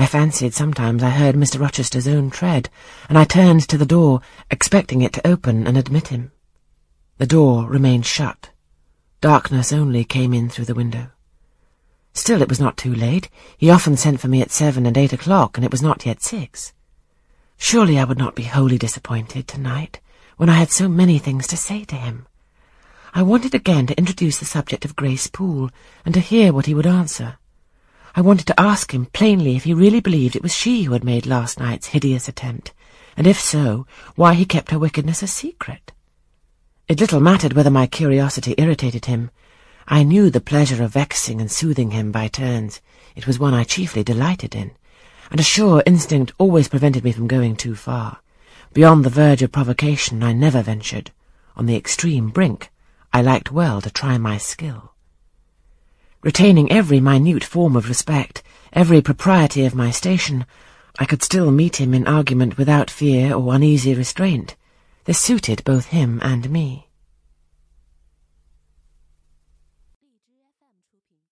I fancied sometimes I heard Mr. Rochester's own tread, and I turned to the door, expecting it to open and admit him. The door remained shut. Darkness only came in through the window. Still, it was not too late. He often sent for me at 7 and 8 o'clock, and it was not yet 6. Surely I would not be wholly disappointed tonight, when I had so many things to say to him. I wanted again to introduce the subject of Grace Poole, and to hear what he would answer. I wanted to ask him plainly if he really believed it was she who had made last night's hideous attempt, and if so, why he kept her wickedness a secret. It little mattered whether my curiosity irritated him. I knew the pleasure of vexing and soothing him by turns. It was one I chiefly delighted in, and a sure instinct always prevented me from going too far. Beyond the verge of provocation I never ventured. On the extreme brink I liked well to try my skill. Retaining every minute form of respect, every propriety of my station, I could still meet him in argument without fear or uneasy restraint. This suited both him and me.